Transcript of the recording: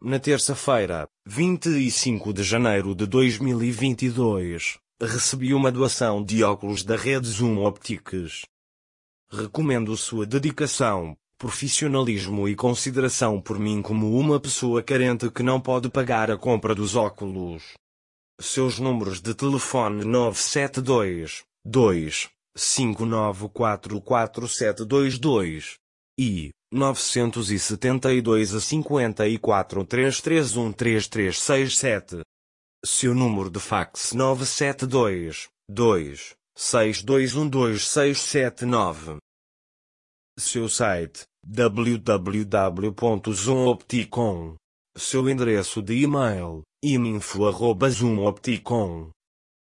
Na terça-feira, 25 de janeiro de 2022, recebi uma doação de óculos da rede Zoom Optics. Recomendo sua dedicação, profissionalismo e consideração por mim como uma pessoa carente que não pode pagar a compra dos óculos. Seus números de telefone 972 2 5944722 e 972 a 54 331 3367. Seu número de fax 972 2 62126779. Seu site www.zoomopticon. Seu endereço de e-mail iminfo@zoomopticon.